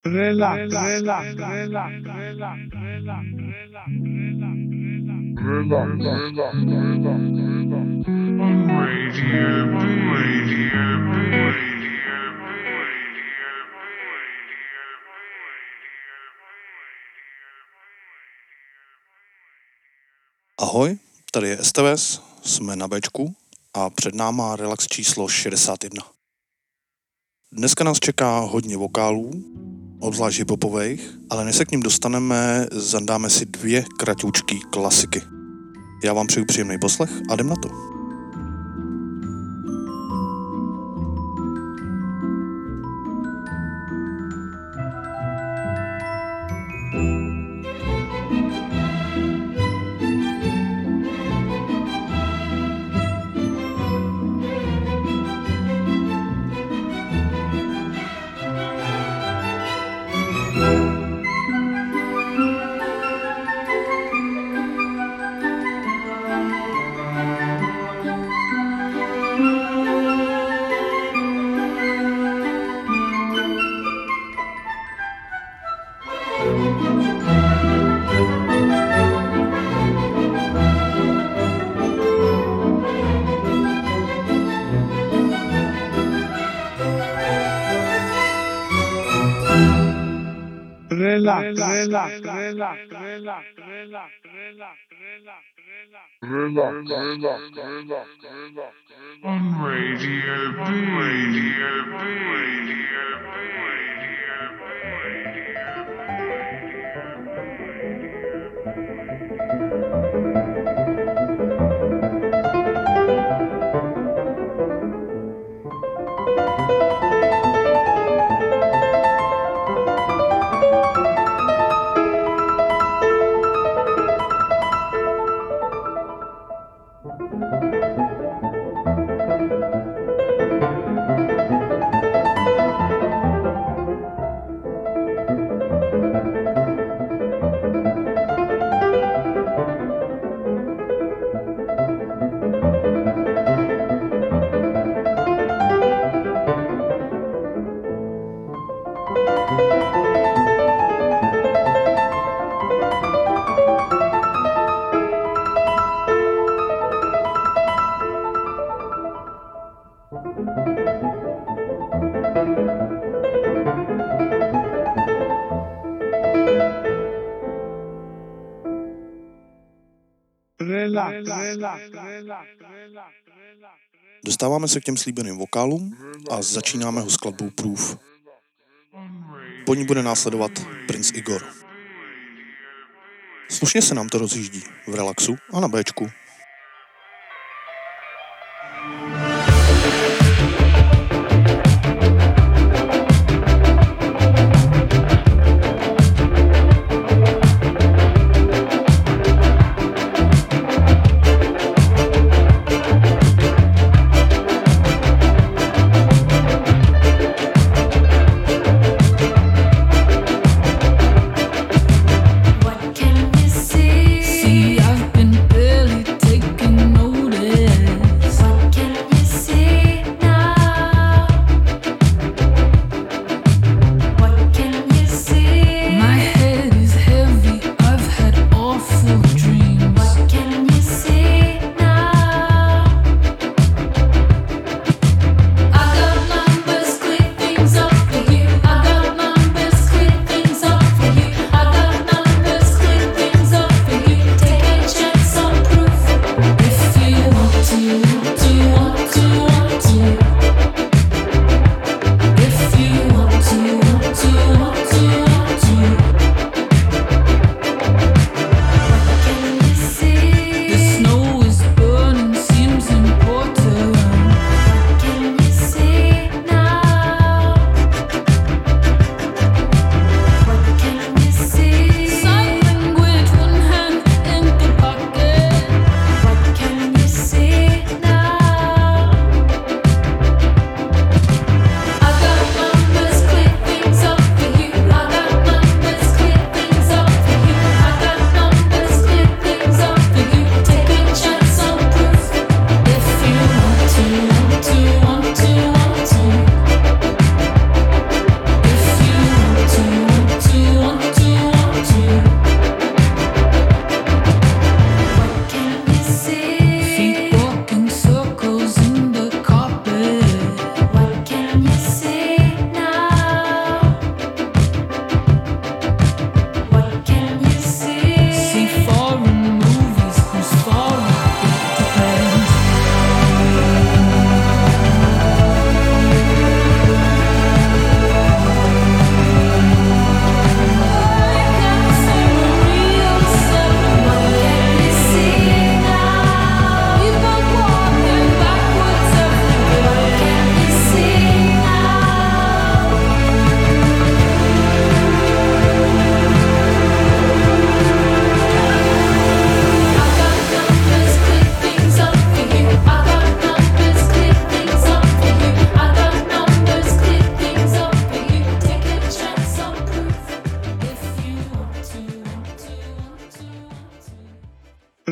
Relax, relax, relax, relax, relax, relax, Radio B, Radio B. Ahoj, tady je STVS, jsme na Bčku a před náma relax číslo 61. Dneska nás čeká hodně vokálů, obzvlášť hiphopových, ale než se k ním dostaneme, zandáme si 2 kratoučký klasiky. Já vám přeju příjemný poslech a jdem na to. Relax, relax, relax, relax, relax, relax, on Radio B, Radio B, Radio Dostáváme se k těm slíbeným vokálům a začínáme ho skladbou Proof. Po ní bude následovat Prince Igor. Slušně se nám to rozjíždí v relaxu a na Bčku. See, I've been barely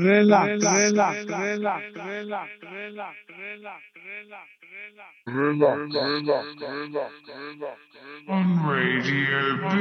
On Radio B.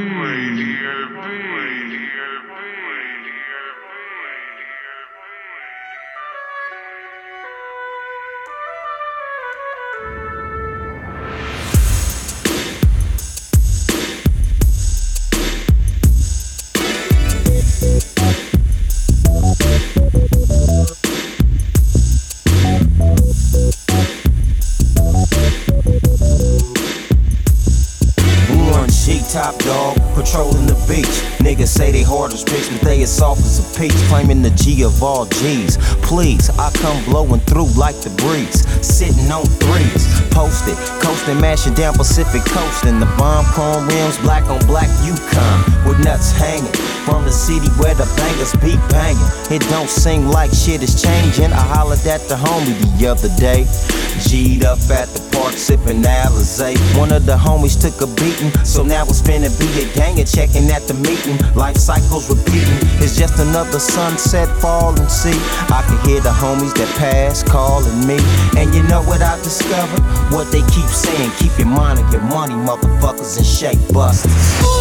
Top dog, patrolling the beach. Niggas say they hard as bricks, but they as soft as a peach. Claiming the G of all G's. Please, I come blowing through like the breeze. Sitting on threes, posted, coasting, mashing down Pacific Coast. And the bomb chrome rims, black on black Yukon, with nuts hanging. From the city where the bangers be banging. It don't seem like shit is changing. I hollered at the homie the other day. G'd up at the park, sipping Alizé. One of the homies took a beating, so now it's finna be a gang and checking at the meeting. Life cycles repeating, it's just another sunset, fall and see. I can hear the homies that pass calling me. And you know what I discovered? What they keep saying, keep your mind on your money, motherfuckers, and shake busters.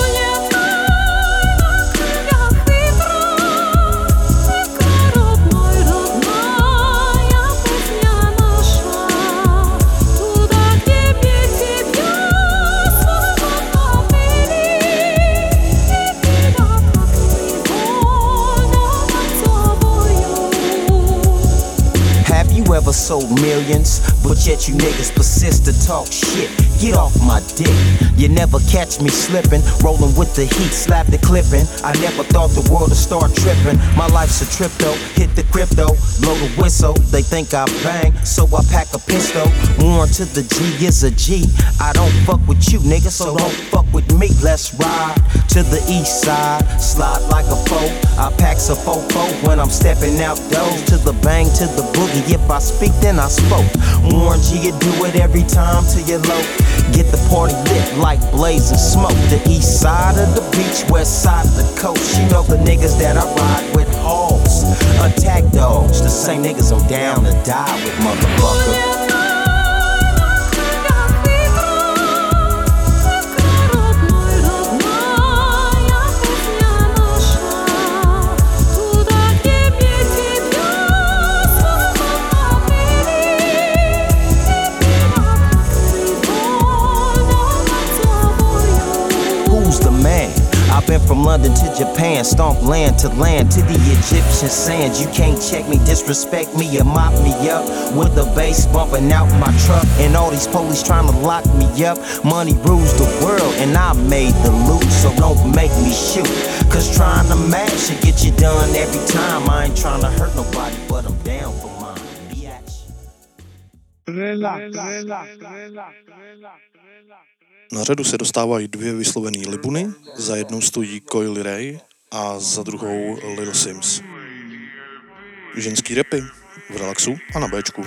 Ever sold millions, but yet you niggas persist to talk shit. Get off my dick. You never catch me slipping, rolling with the heat, slap the clipping. I never thought the world would start tripping. My life's a trip though, hit the crypto, blow the whistle. They think I bang, so I pack a pistol. Warn to the G is a G. I don't fuck with you, nigga, so don't fuck with me. Let's ride to the east side, slide like a foe. I pack a fofo when I'm stepping out doors. To the bang, to the boogie. If I speak, then I spoke. Warn G, you do it every time till you're low. Get the party lit like blazing smoke. The east side of the beach, west side of the coast. You know the niggas that I ride with, hogs, attack dogs. The same niggas I'm down to die with, motherfucker. I've been from London to Japan, stomp land to the Egyptian sands. You can't check me, disrespect me, or mop me up with the bass bumping out my truck. And all these police trying to lock me up. Money rules the world and I made the loot, so don't make me shoot. Cause trying to match should get you done every time. I ain't trying to hurt nobody, but I'm down for mine. Biatch. Na řadu se dostávají dvě vyslovené libuny, za jednou stojí Coily Ray a za druhou Little Sims. Ženský rapy v relaxu a na Bčku.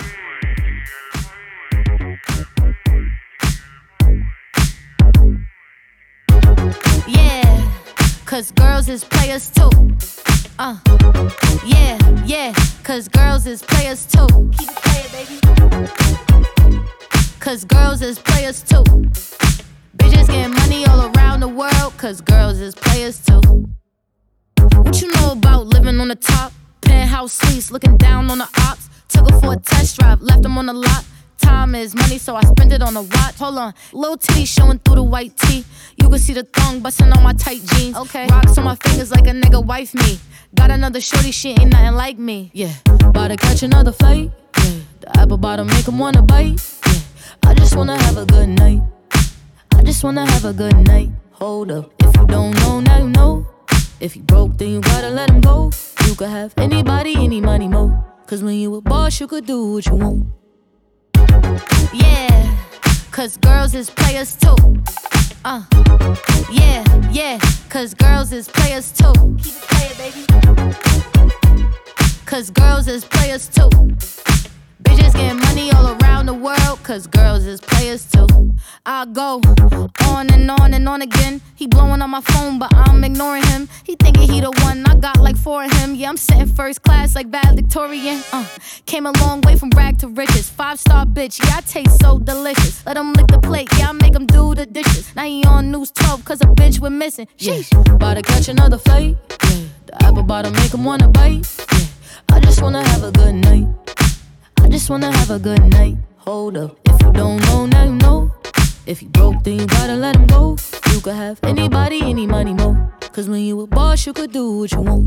Yeah, cause girls is players too. Yeah, cause girls is players too. Keep it playing, baby. Cause girls is players too. Bitches getting money all around the world, cause girls is players too. What you know about living on the top? Penthouse suites, looking down on the ops. Took her for a test drive, left them on the lot. Time is money, so I spend it on a watch. Hold on, little titty showing through the white tee. You can see the thong busting on my tight jeans. Okay, rocks on my fingers like a nigga wife me. Got another shorty, she ain't nothing like me. Yeah, about to catch another flight. Yeah, the apple bottom make him wanna bite. Yeah, I just wanna have a good night. I just wanna have a good night. Hold up, if you don't know, now you know. If you broke, then you gotta let him go. You could have anybody, any money, mo. Cause when you a boss, you could do what you want. Yeah, cause girls is players too. Yeah, cause girls is players too. Keep it playing, baby. Cause girls is players too. Bitches getting money all around the world, cause girls is players too. I go on and on on again. He blowing on my phone, but I'm ignoring him. He thinking he the one, I got like 4 of him. Yeah, I'm sitting first class like valedictorian. Came a long way from rag to riches. 5-star bitch, yeah, I taste so delicious. Let him lick the plate, yeah, I make him do the dishes. Now he on News 12 cause a bitch we're missing. Sheesh, about to catch another flight. Yeah, the apple bottom make him wanna bite. Yeah, I just wanna have a good night. I just wanna have a good night. Hold up, if you don't know, now you know. If you broke, then you gotta let him go. You could have anybody, any money, more. Cause when you a boss, you could do what you want.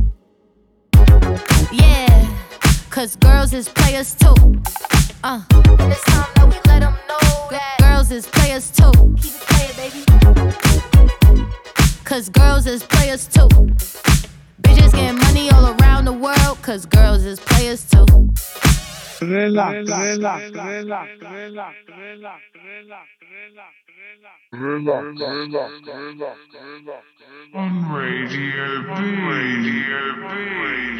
Yeah, cause girls is players too. And it's time that we let them know that girls is players too. Keep it playing, baby. Cause girls is players too. Bitches getting money all around the world. Cause girls is players too. Relax. On Radio B.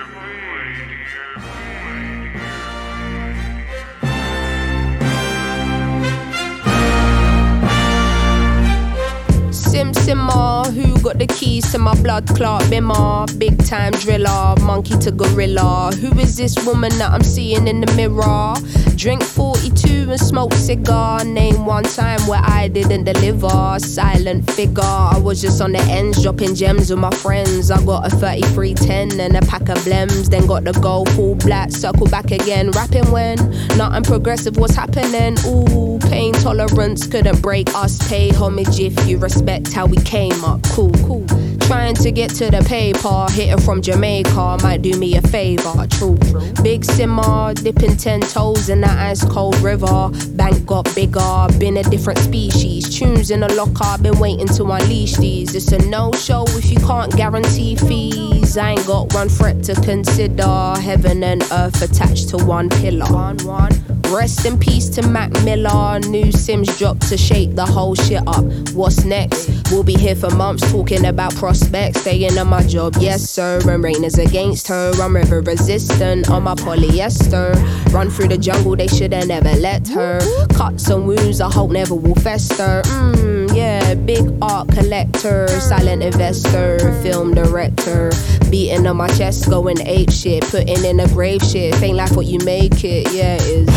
Simmer, who got the keys to my blood clot bimmer? Big time driller, monkey to gorilla. Who is this woman that I'm seeing in the mirror? Drink 42 and smoke cigar. Name one time where I didn't deliver. Silent figure, I was just on the ends dropping gems with my friends. I got a 3310 and a pack of blems. Then got the gold full black, circle back again. Rapping when nothing progressive was happening. Ooh, pain tolerance couldn't break us. Pay homage if you respect how we came up. Cool. Trying to get to the paper, hitting from Jamaica might do me a favor. True. Big simmer, dipping 10 toes in that ice cold river. Bank got bigger, been a different species. Tunes in a locker, been waiting to unleash these. It's a no-show if you can't guarantee fees. I ain't got one threat to consider. Heaven and earth attached to one pillar. Rest in peace to Mac Miller. New Sims dropped to shake the whole shit up. What's next? We'll be here for months talking about prospects. Staying on my job, yes sir. And rain is against her. I'm river resistant on my polyester. Run through the jungle, they should've never let her. Cuts and wounds I hope never will fester. Yeah, big art collector. Silent investor, film director. Beating on my chest, going ape shit. Putting in a grave shit. Ain't like what you make it, yeah it is.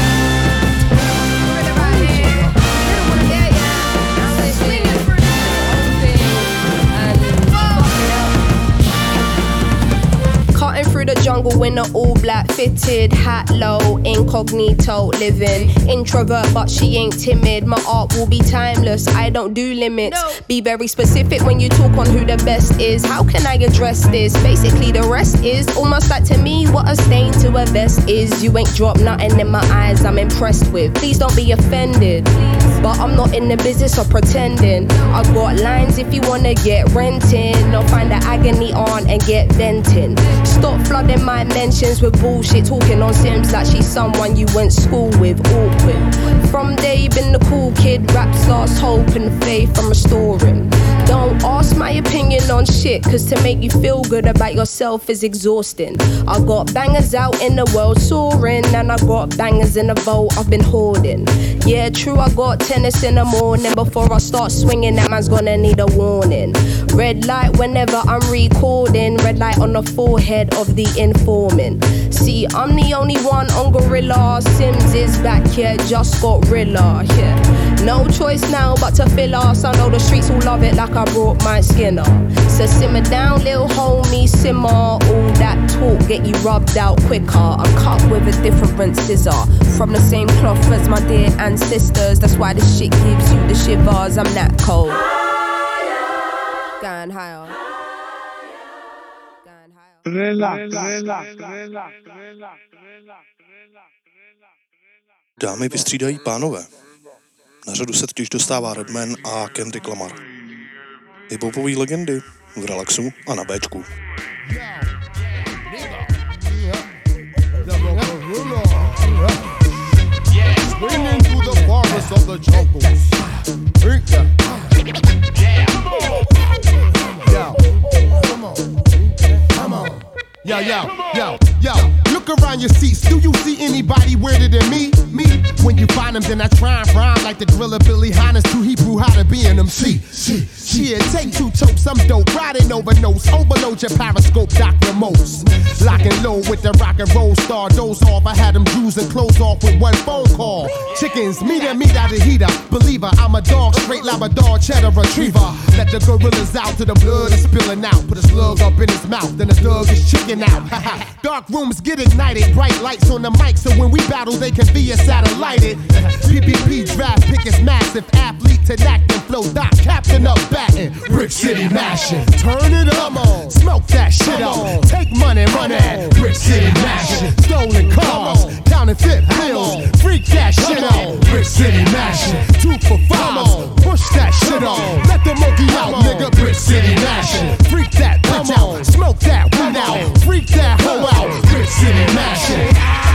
Through the jungle in an all black fitted hat low, incognito living. Introvert but she ain't timid. My art will be timeless, I don't do limits. Be very specific when you talk on who the best is. How can I address this? Basically the rest is almost like to me what a stain to a vest is. You ain't dropped nothing in my eyes I'm impressed with. Please don't be offended, but I'm not in the business of pretending. I got lines if you wanna get renting, or find the agony on and get venting. Stop flooding my mentions with bullshit, talking on Sims like she's someone you went school with. Awkward. From day been the cool kid, raps lost hope and faith I'm restoring. Don't ask my opinion on shit, cause to make you feel good about yourself is exhausting. I got bangers out in the world soaring, and I got bangers in the vault I've been hoarding. Yeah true, I got tennis in the morning. Before I start swinging, that man's gonna need a warning. Red light whenever I'm recording. Red light on the forehead of the informant. See, I'm the only one on Gorilla. Sims is back here, just got Rilla, yeah. No choice now but to fill us. I know the streets will love it like I brought my Skinner. So simmer down, little homie, simmer. All that talk get you rubbed out quicker. I'm cut with a different scissor. From the same cloth as my dear ancestors. That's why this shit gives you the shivers. I'm that cold. Going higher. Dámy vystřídají pánové. Na řadu se totiž dostává Redman a Kendrick Lamar. Hip-hopové legendy v relaxu a na Bčku. Yo, look around your seats. Do you see anybody weirder than me? When you find them, then I try and rhyme like the Gorilla Billy Hines to Hebrew how to be an MC. Here, take 2 totes, I'm dope, riding over notes. Overload your periscope, Doc remotes. Lock and load with the rock and roll star. Doze off, I had them Jews and clothes off with 1 phone call. Chickens, meat out of heater. Believer, I'm a dog, straight Labrador, cheddar retriever. Let the gorillas out till the blood is spilling out. Put a slug up in his mouth, then the thug is chicken out. Dark rooms get ignited, bright lights on the mic, so when we battle, they can be a satellited. PPP draft pick is massive, athlete to acting, flow Doc, captain up batting, Brick City mashing. Turn it up, smoke that shit up. Take money, run it, Brick City mashing. Stolen cars, counterfeit bills, freak that shit up. Brick City mashing. 2 for 5, push that shit up. Let the monkey out, nigga. Brick City mashing. Freak that bitch out, smoke that weed out, freak that hoe out. Brick City mashing.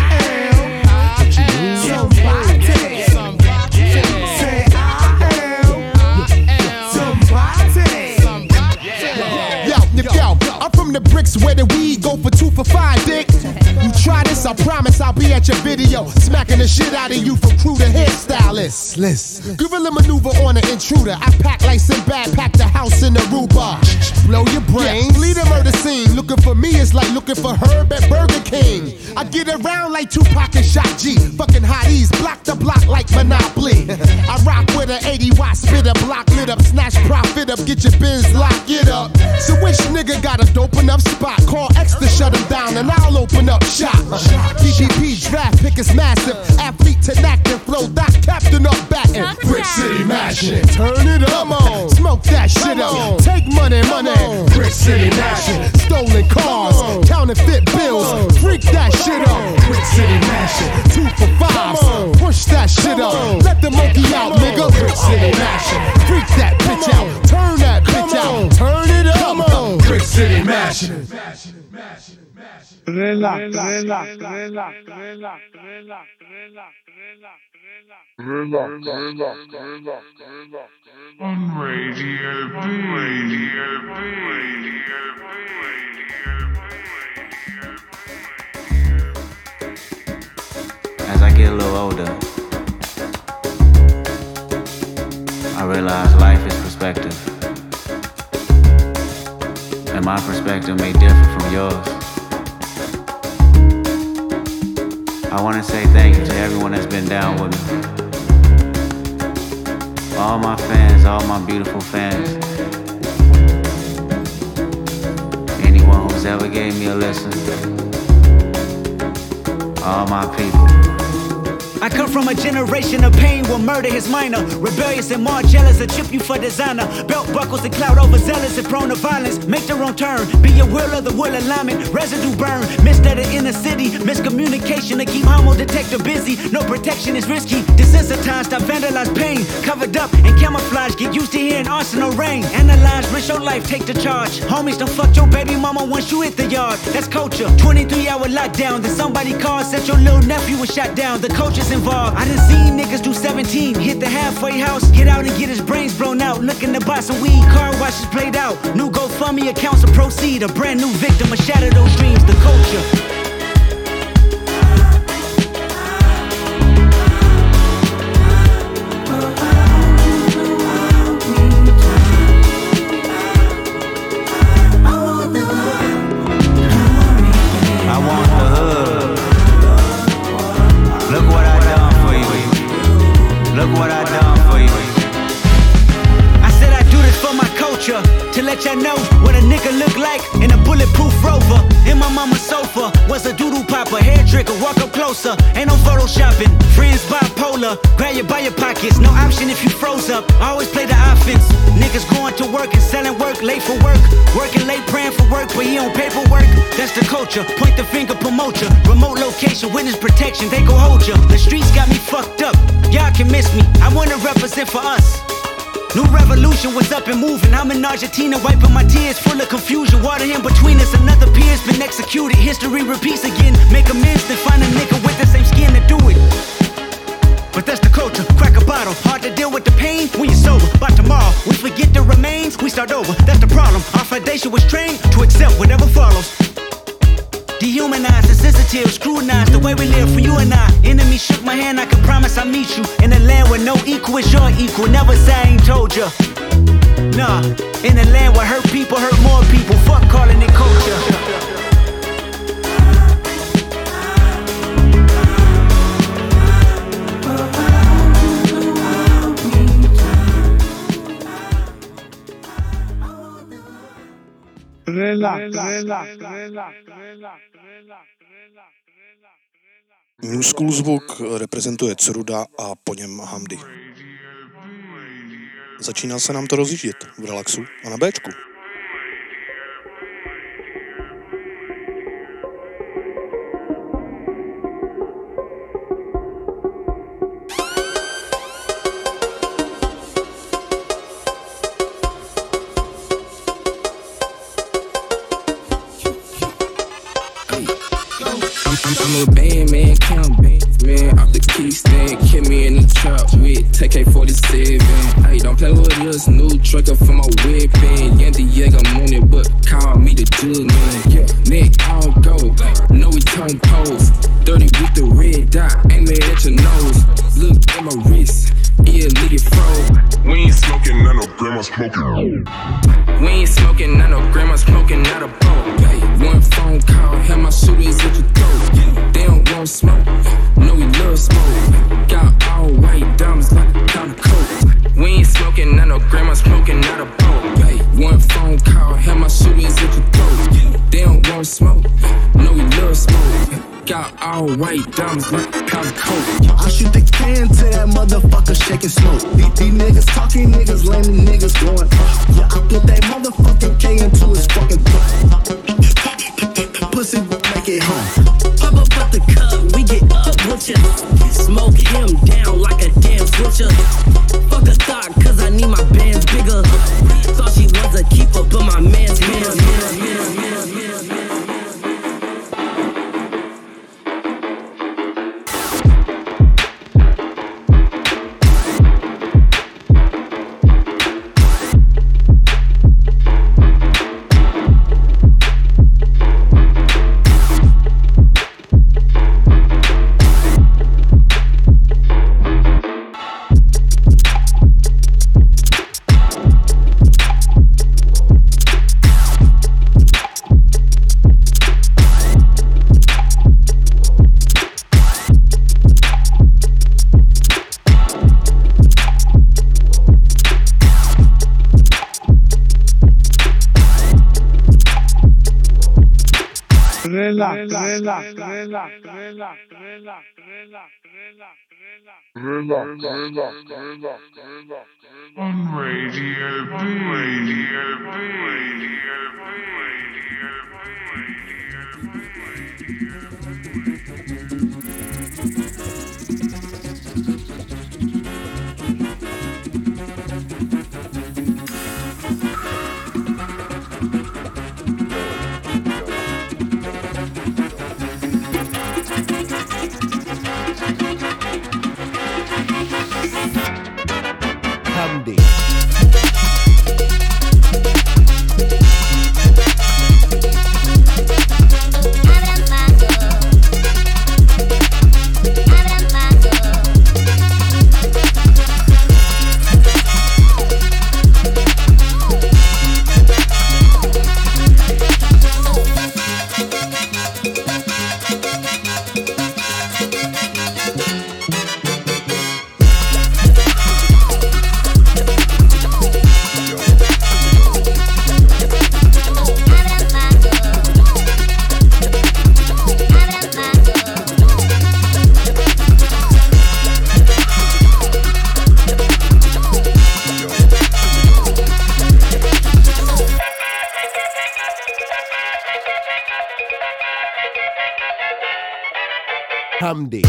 I'm from the bricks where the weed go for 2 for 5, dick. You try this, I promise I'll be at your video, smacking the shit out of you from crew to hairstylist. Listen. Guerrilla maneuver on an intruder. I pack like Sinbad, pack the house in Aruba. Blow your brains, lead a murder scene. Looking for me is like looking for Herb at Burger King. I get around like Tupac and Shock G. Fucking hotties, block the block like Monopoly. I rock with an 80-watt spitter, block lit up, snatch profit up, get your biz, lock it up. So which nigga got a dope enough spot? Call X to shut him down and I'll open up shop. PPP draft pick is massive, athlete to acting, flow Doc, captain up batting, Brick City mashing. Turn it up, smoke that shit up. Take money, Brick City mashing. Stolen cars, counterfeit bills, freak that shit up. Brick City mashing. 2 for 5, push that shit up. Let the monkey out, nigga. Brick City mashing. Freak that bitch out, turn that bitch out, turn it up. Brick City mashing. Relax. On Radio B. As I get a little older, I realize life is perspective. And my perspective may differ from yours. I want to say thank you to everyone that's been down with me. All my fans, all my beautiful fans. Anyone who's ever gave me a listen. All my people. I come from a generation of pain where murder is minor. Rebellious and more jealous, a chip you for designer. Belt buckles and cloud overzealous and prone to violence. Make their own turn, be aware of the will alignment. Residue burn, missed at the inner city. Miscommunication to keep homo detector busy. No protection is risky. Desensitized, I vandalize pain. Covered up and camouflage, get used to hearing arsenal rain. Analyze, risk your life, take the charge. Homies, don't fuck your baby mama once you hit the yard. That's culture, 23-hour lockdown. Then somebody called, said your little nephew was shot down. The culture's involved. I done seen niggas do 17, hit the halfway house, get out and get his brains blown out. Looking to buy some weed, car washes played out. New GoFundMe accounts to proceed. A brand new victim of shatter those dreams. The culture. To let y'all know what a nigga look like in a bulletproof Rover. In my mama's sofa was a doodle popper, hair trigger, walk up closer. Ain't no photoshopping, friends bipolar. Grab you by your pockets, no option if you froze up. Always play the offense. Niggas going to work and selling work, late for work. Working late, praying for work, but he on paperwork. That's the culture, point the finger, promote ya. Remote location, witness protection, they gon' hold ya. The streets got me fucked up, y'all can miss me. I wanna represent for us. New revolution was up and moving. I'm in Argentina wiping my tears, full of confusion. Water in between us, another peer's been executed. History repeats again. Make amends, then find a nigga with the same skin to do it. But that's the culture, crack a bottle. Hard to deal with the pain when you're sober. By tomorrow, we forget the remains, we start over. That's the problem. Our foundation was trained to accept whatever follows. Dehumanized, insensitive, scrutinized the way we live for you and I. Enemy shook my hand, I can promise I'll meet you in a land where no equal is your equal. Never say I ain't told ya. Nah, in a land where hurt people hurt more people. Fuck calling it culture. New School zvuk reprezentuje Ceruda a po něm Hamdi. Začíná se nám to rozjíždět v relaxu a na Bčku. I'm a band man, count bands, man. Off the kickstand, kill me in the trap with TK-47. Hey, don't play with us, new trucker for my weapon. Yandy Yeg, I'm on it, but call me the jug man. Yeah, neck all go, know we turn pose. 30 with the red dot, aim it at your nose. Look at my wrist, yeah, look it froze. We ain't smoking, none of grandma smoking. We ain't smoking, none of grandma smoking, not a boat. Hey, one phone call, have my shooters at your throat. They don't want smoke, no we love smoke. Got all white diamonds like a powder coat. We ain't smoking, none of grandma smoking, not a boat. Hey, one phone call, have my shooters at your throat. They don't want smoke, no we love smoke. Got all white diamonds like a powder coat. I shoot the can to that motherfucker shaking smoke. These niggas talking, niggas lame, niggas going. Yeah, I put that motherfucking K into his fucking throat. Pussy won't make it home. Pop up at the cup, we get up with ya. Smoke him down like a damn switcher. Fuck a thought, cause I need my bands bigger. Thought she was a keeper, but my man's On Radio B. Hamdi. Hamdi.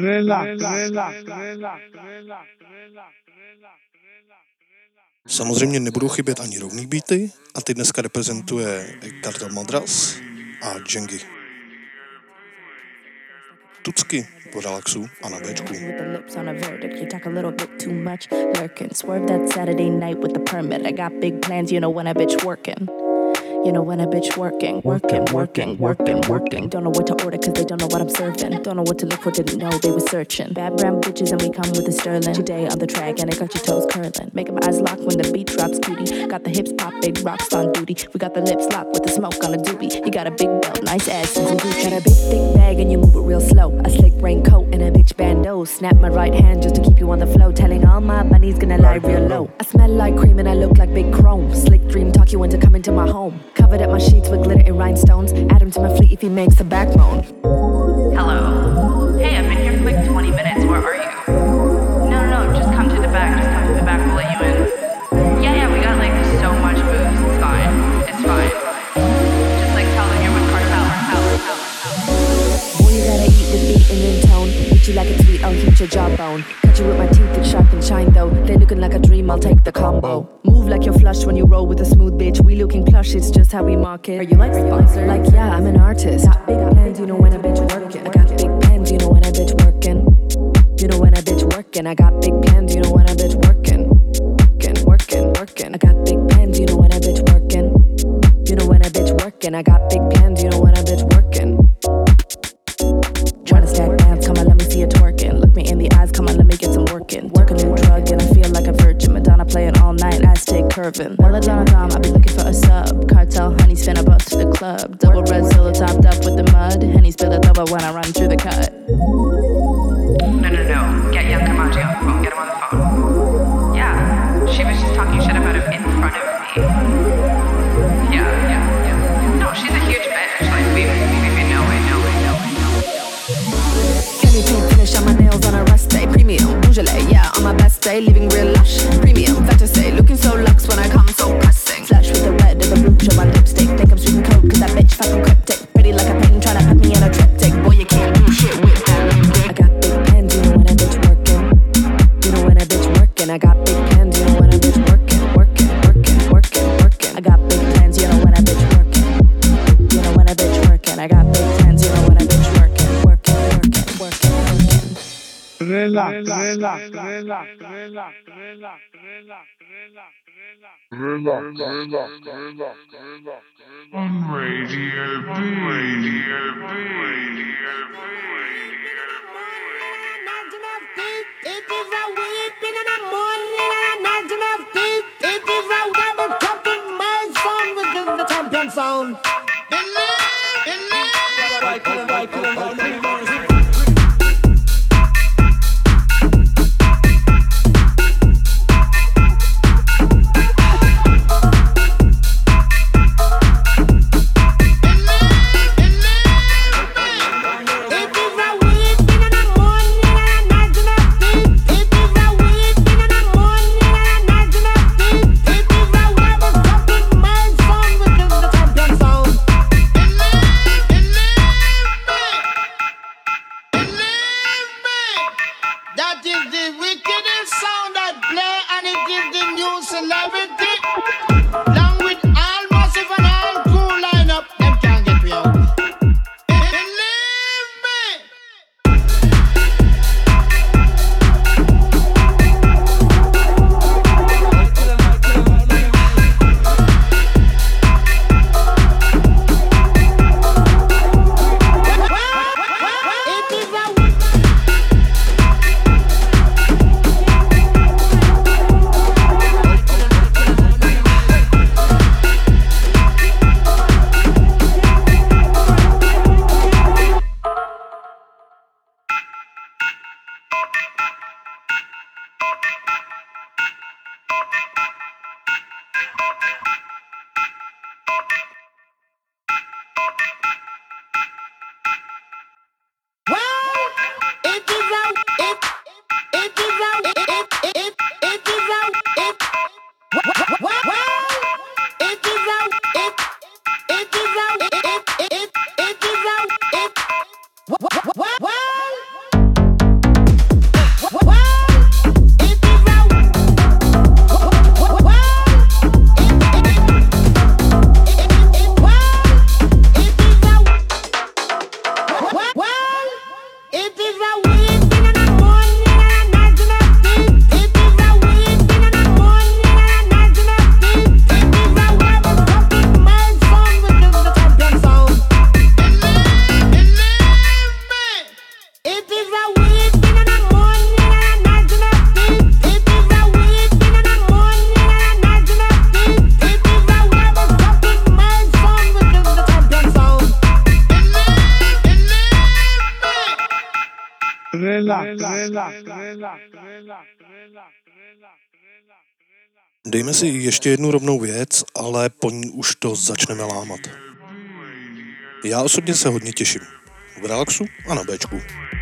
Samozřejmě nebudou chybět ani rovný beaty a ty dneska reprezentuje Kartel Madras a Džengy. Tucky po Relaxu a na Bčku. With the lips on a verdict, you talk a little bit too much. Lurking, swerve that Saturday night with the permit. I got big plans, you know when a bitch working. You know when a bitch working. Don't know what to order cause they don't know what I'm serving. Don't know what to look for, didn't know they were searching. Bad brown bitches and we come with the sterling. Today on the track and it got your toes curling. Making my eyes lock when the beat drops, cutie. Got the hips pop, big rocks on duty. We got the lips locked with the smoke on a doobie. You got a big belt, nice ass and some Gucci. Got a big thick bag and you move it real slow. A slick raincoat and a bitch bandeau. Snap my right hand just to keep you on the flow. Telling all my bunnies gonna lie real low. I smell like cream and I look like big chrome. Slick dream talk you into coming to my home. Covered up my sheets with glitter and rhinestones. Add him to my fleet if he makes a backbone. Hello. Hey, I've been here for like 20 minutes. Where are you? No, just come to the back. We'll let you in. Yeah, we got like so much booze. It's fine. Just like tell them you're with Cartel. Boy, you gotta eat the beat and then tone. Hit you like a tweet, I'll hit your jawbone. Cut you with my teeth, it's sharp and shine though. They looking like a dream, I'll take the combo. Move like you're flush when you roll with a smooth bitch. We looking plush, it's just how we market. Are you like sponsored? Like yeah, I'm an artist. Got big plans, you know when a bitch working. I got big plans, you know when a bitch working. You know when a bitch working. I got big plans, you know when a bitch working. Working. I got big plans, you know when a bitch working. You know when a bitch working. I got big plans, you know when a bitch working. Tryna stack bands, come on, let me see you twerking. Look me in the eyes, come on, let me get some working. Took a new drug and I feel like a virgin. Madonna playing all night, Aztec curving. Melodonna Dom, I be looking for a sub. Cartel, honey, spin a bus to the club. Double red solo topped up with the mud. Henny spill it over when I run through the cut. No. Get Young Kamachi on the phone. Get him on the phone. Yeah, she was just talking shit about him in front of me. Yeah. No, she's a huge bitch. Like, we know it. Can you paint finish on my nails on a rest day? Premium, usually, yeah, on my best day, living real lush. Premium, fair to say, looking so luxe when I come so pressing. Flash with the red of a rouge on my lipstick. Think I'm sweet and cold, cause that bitch fucking cryptic. Pretty like a painting, tryna put me in a triptych. Boy, you can't do shit with that lipstick. I got big plans, you know when a bitch working. You know when a bitch working. I got big plans, you know when a bitch working. I got big plans, you know when a bitch working. You know when a bitch working. I got big plans, you know when a bitch working. Relax. On Radio It is a weeping in the morning and a night of deep. It is a double cupping my sound within the champion sound. Dejme si ještě jednu rovnou věc, ale po ní už to začneme lámat. Já osobně se hodně těším. V Relaxu a na Bčku.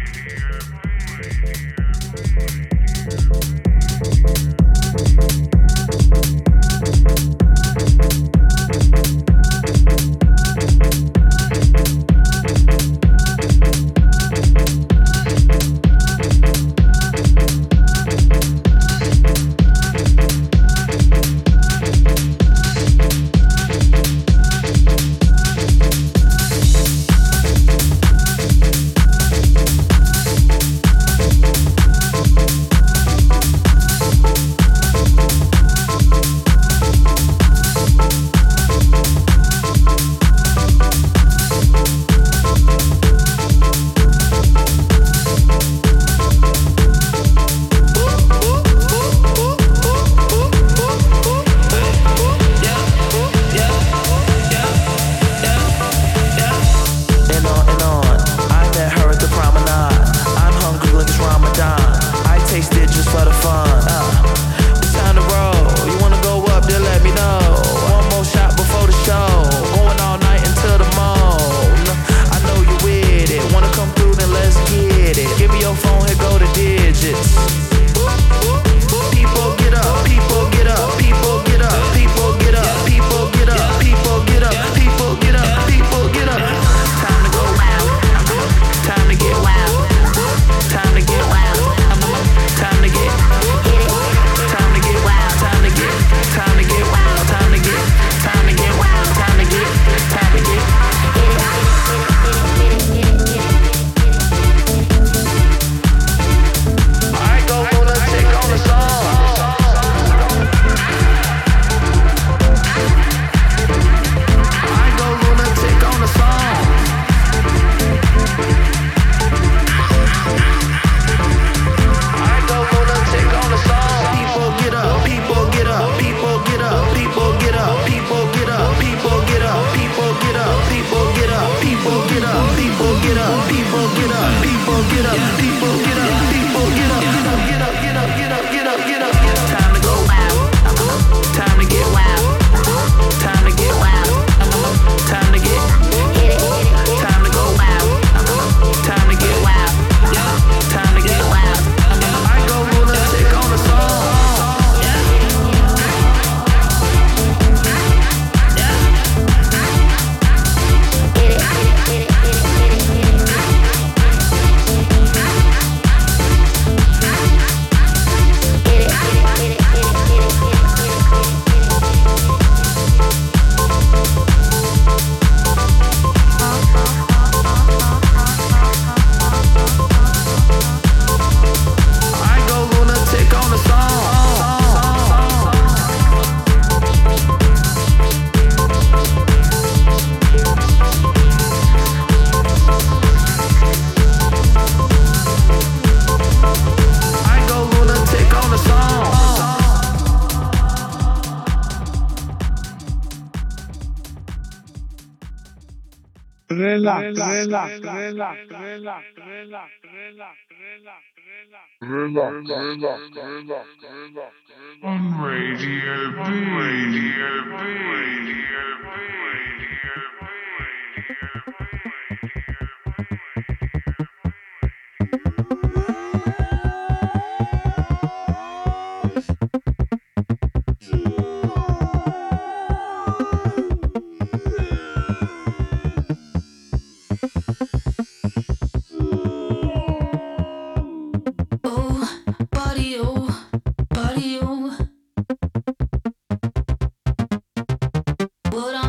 On Radio B. What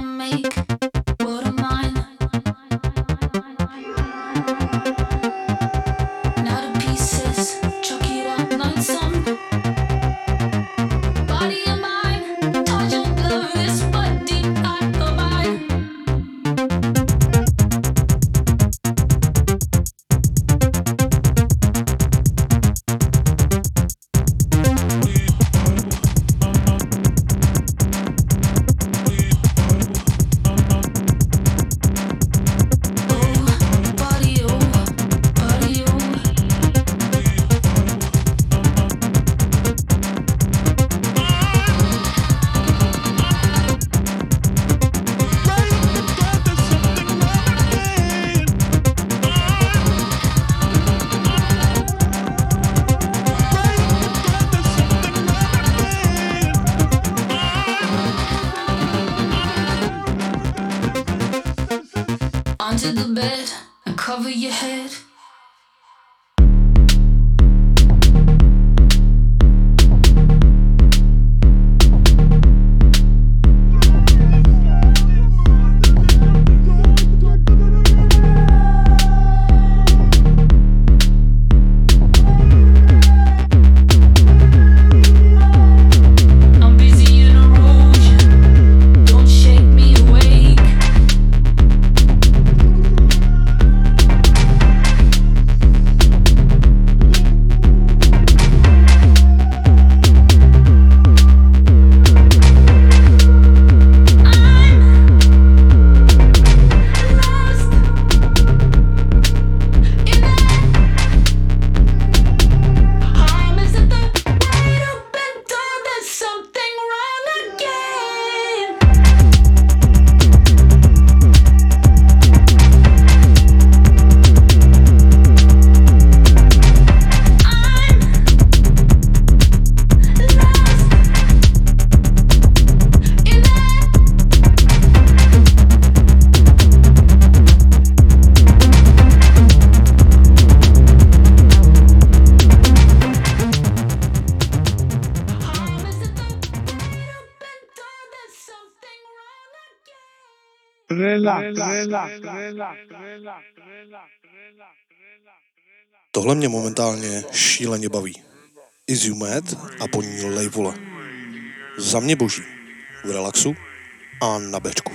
Tohle mě momentálně šíleně baví. Is You Mad a po ní Lejvole. Za mě boží. V relaxu a na bečku.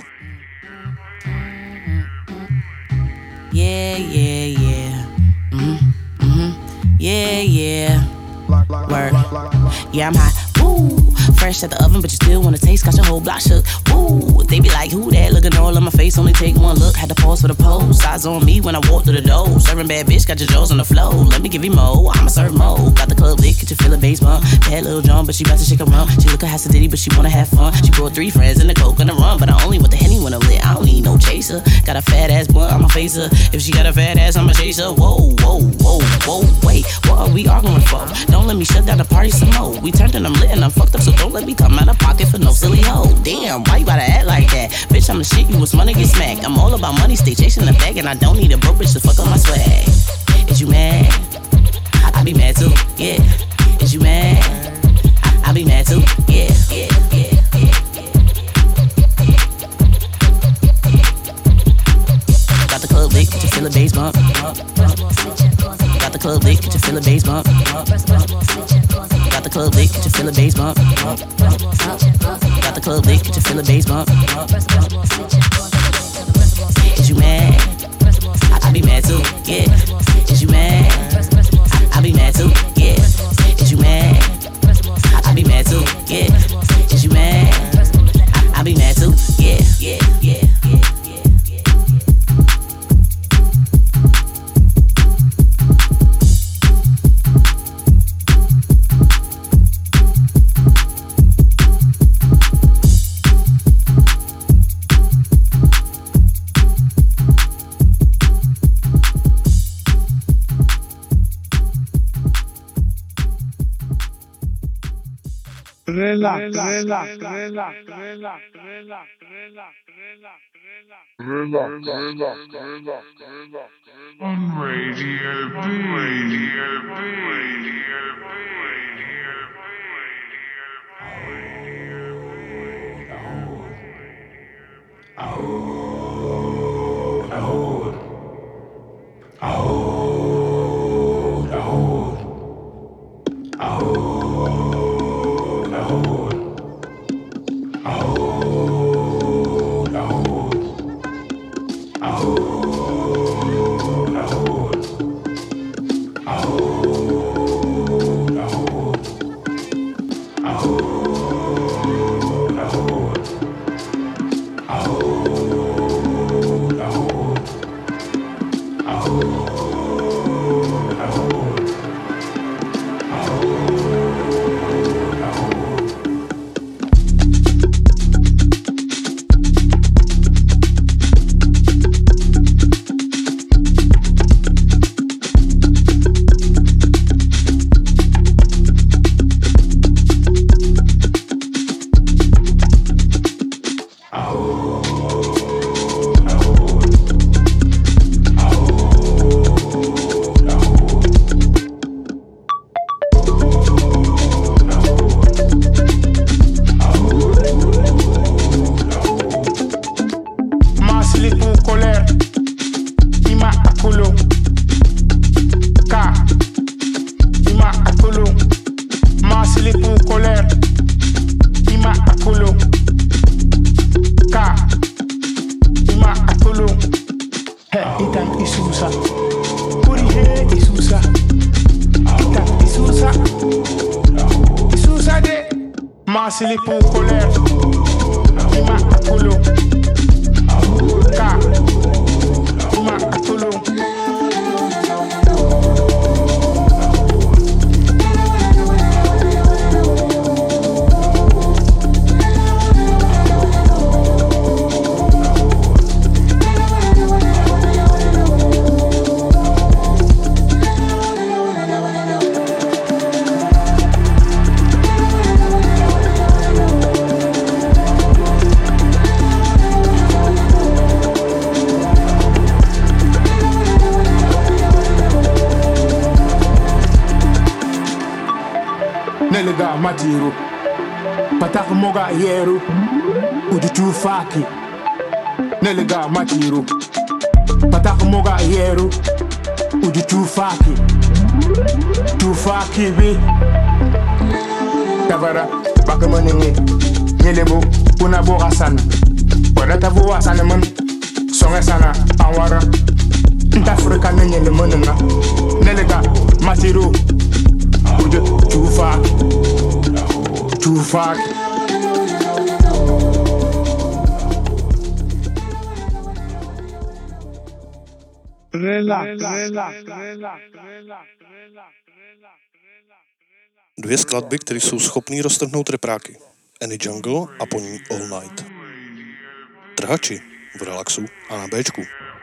Yeah, yeah, yeah. Yeah, yeah. Word. Yeah, I'm hot. Woo. Fresh at the oven, but you still wanna taste. Got your whole block shook. Woo. They be like, who that? Looking all on my face, only take one look. Had to pause for the pose. Eyes on me when I walk through the door. Serving bad bitch, got your jaws on the floor. Let me give you more. I'ma serve more. Got the club lit, get you feel a bass bump. Bad little drum, but she bout to shake a rum. She look a Hasidity, but she wanna have fun. She brought 3 friends in the coke and the rum, but I only want the Henny when I'm lit. I don't need no chaser. Got a fat ass blunt, I'ma face her. If she got a fat ass, I'ma chase her. Whoa, whoa, whoa, whoa, wait. What are we arguing for? Don't let me shut down the party some more. We turned and I'm lit and I'm fucked up, so don't let me come out of pocket for no silly hoe. Damn, why you gotta act like that? Bitch, I'm the shit, you was wanna get smacked. I'm all about money, stay chasing the bag, and I don't need a broke bitch to fuck up my swag. Is you mad? I be mad too, yeah. Is you mad? I be mad too, yeah, yeah, yeah, yeah. Got the club lit, could you feel the bass bump? Got the club lit, could you feel the bass bump? Got the club lit, could you feel the bass bump? Got the club lit, could you feel the bass bump? Is you mad? I be mad too, yeah. Is you mad? I be mad too, yeah. Is you mad? I be mad too, yeah. Is you mad? I be mad too, yeah, yeah, yeah, yeah. On Radio B. Matiru Patak moga yeru Udu tu faki Neliga matiru Pataka moga yeru Uju Tufaki bi Tavara Bakamanini Nyelebo Una boga sana Wadata vuwa sana man Songa sana Awara Ntafrika nyele manina Neliga matiru Uju Tufaki Dvě skladby, které jsou schopný roztrhnout repráky. Any Jungle a po ní All Night. Trhači v Relaxu a na Bčku.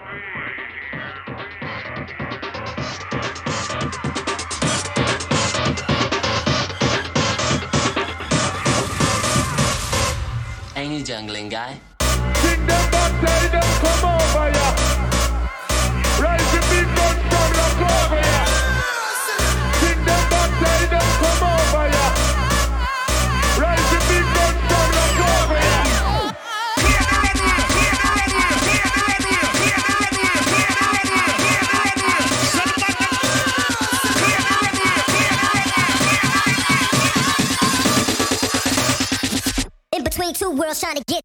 Any jungling guy? Sing them back, tell them come over ya. Rise the big gun from the over ya. Sing them back, tell them come over ya. Rise the big gun from the over ya. In between two worlds trying to get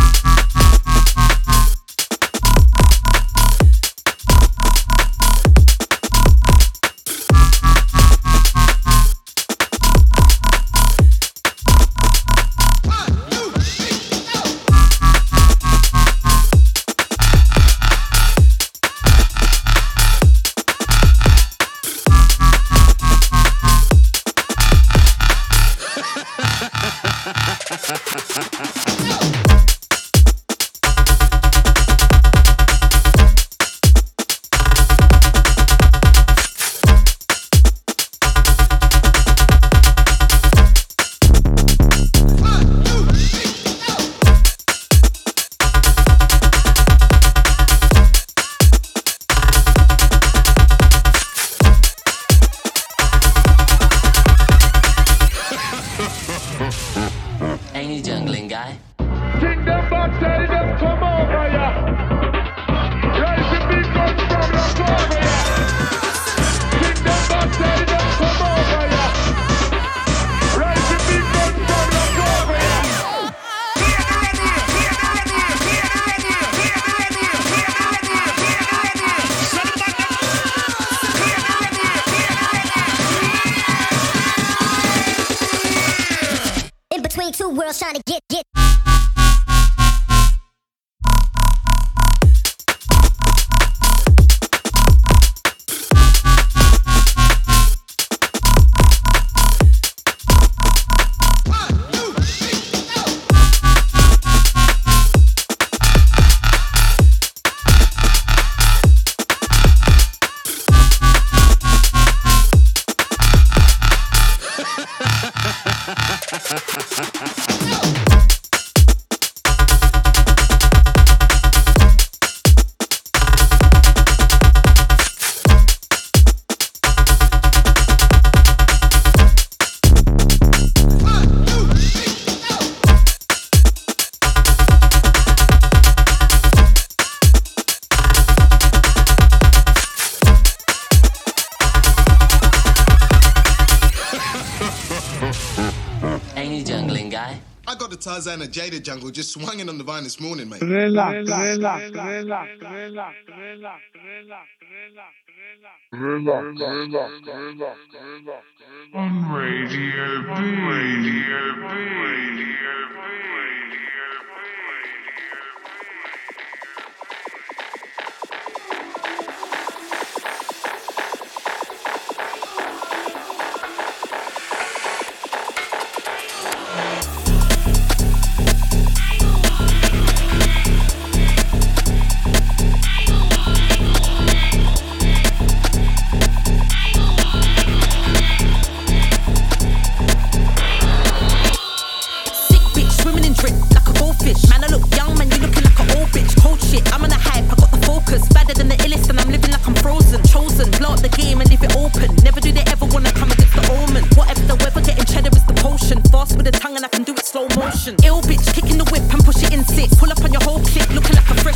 Any jungling guy? Sing them back, tell them come over ya. Rise the big gun from the over ya. Sing them back, tell them come over ya. Rise the big gun from the over ya. in between two worlds trying to get Any jungling guy? I got the Tarzan and Jada jungle just swinging on the vine this morning, mate. Relax. On Radio B. Ill bitch, kicking the whip and push it in six. Pull up on your whole clique, looking like a friend.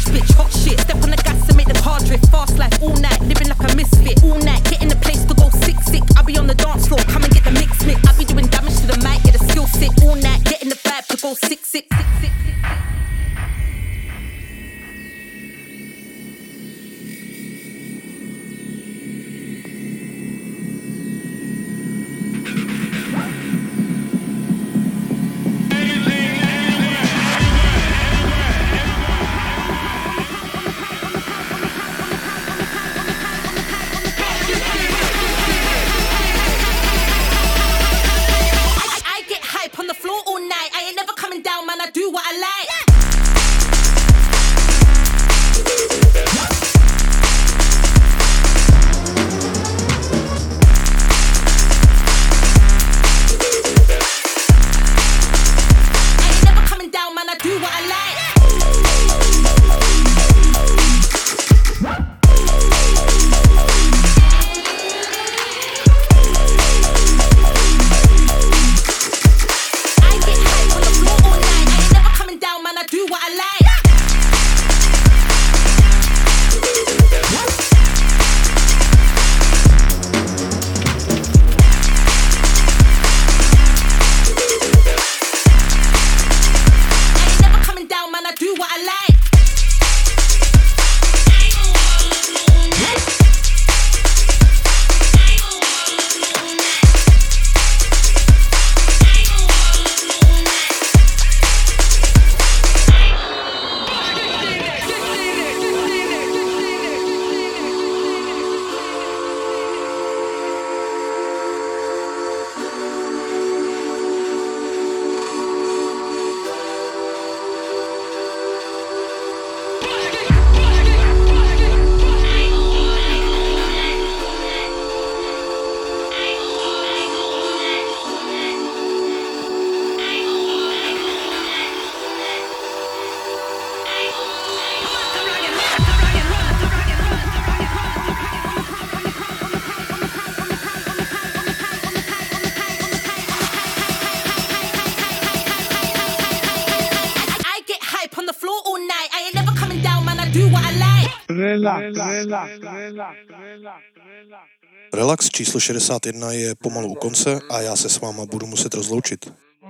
Relax číslo 61 je pomalu u konce a já se s váma budu muset rozloučit.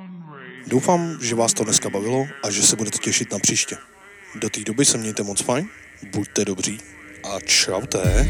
Doufám, že vás to dneska bavilo a že se budete těšit na příště. Do té doby se mějte moc fajn, buďte dobří a čaute.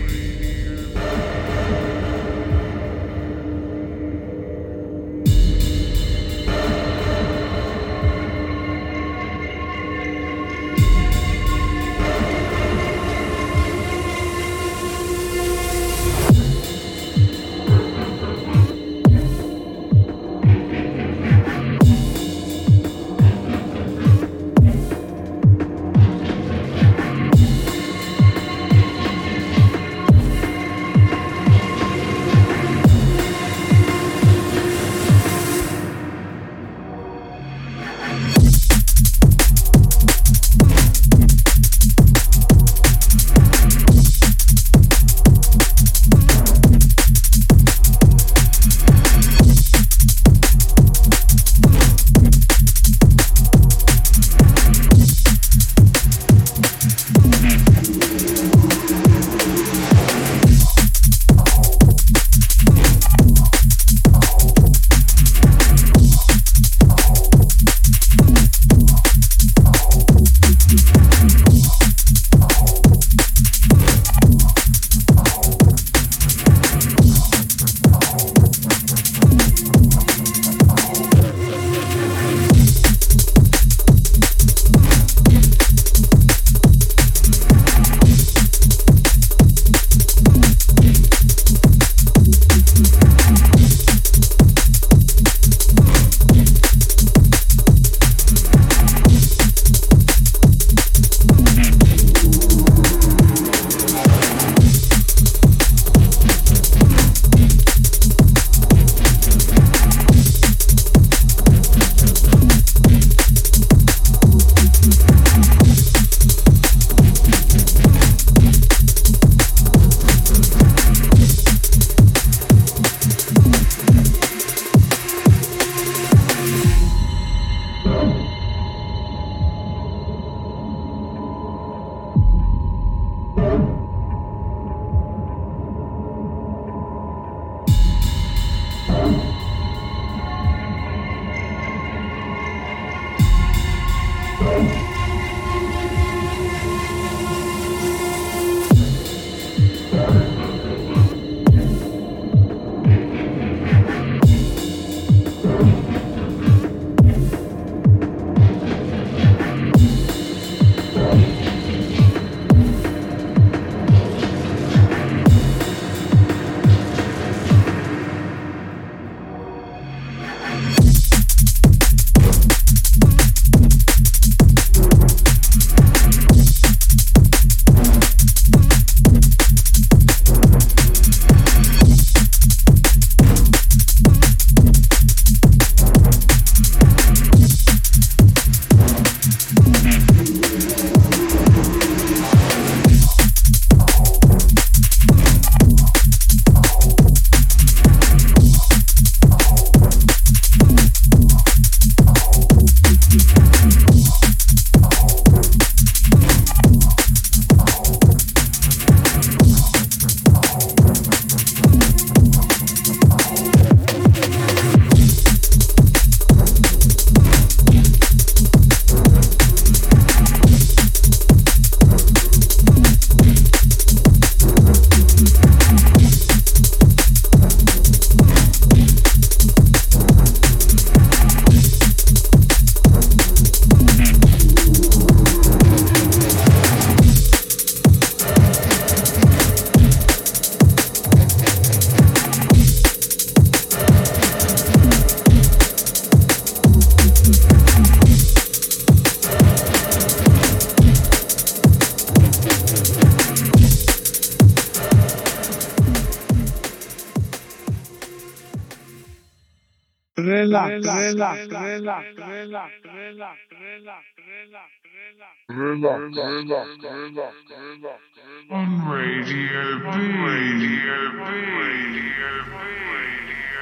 On Radio B.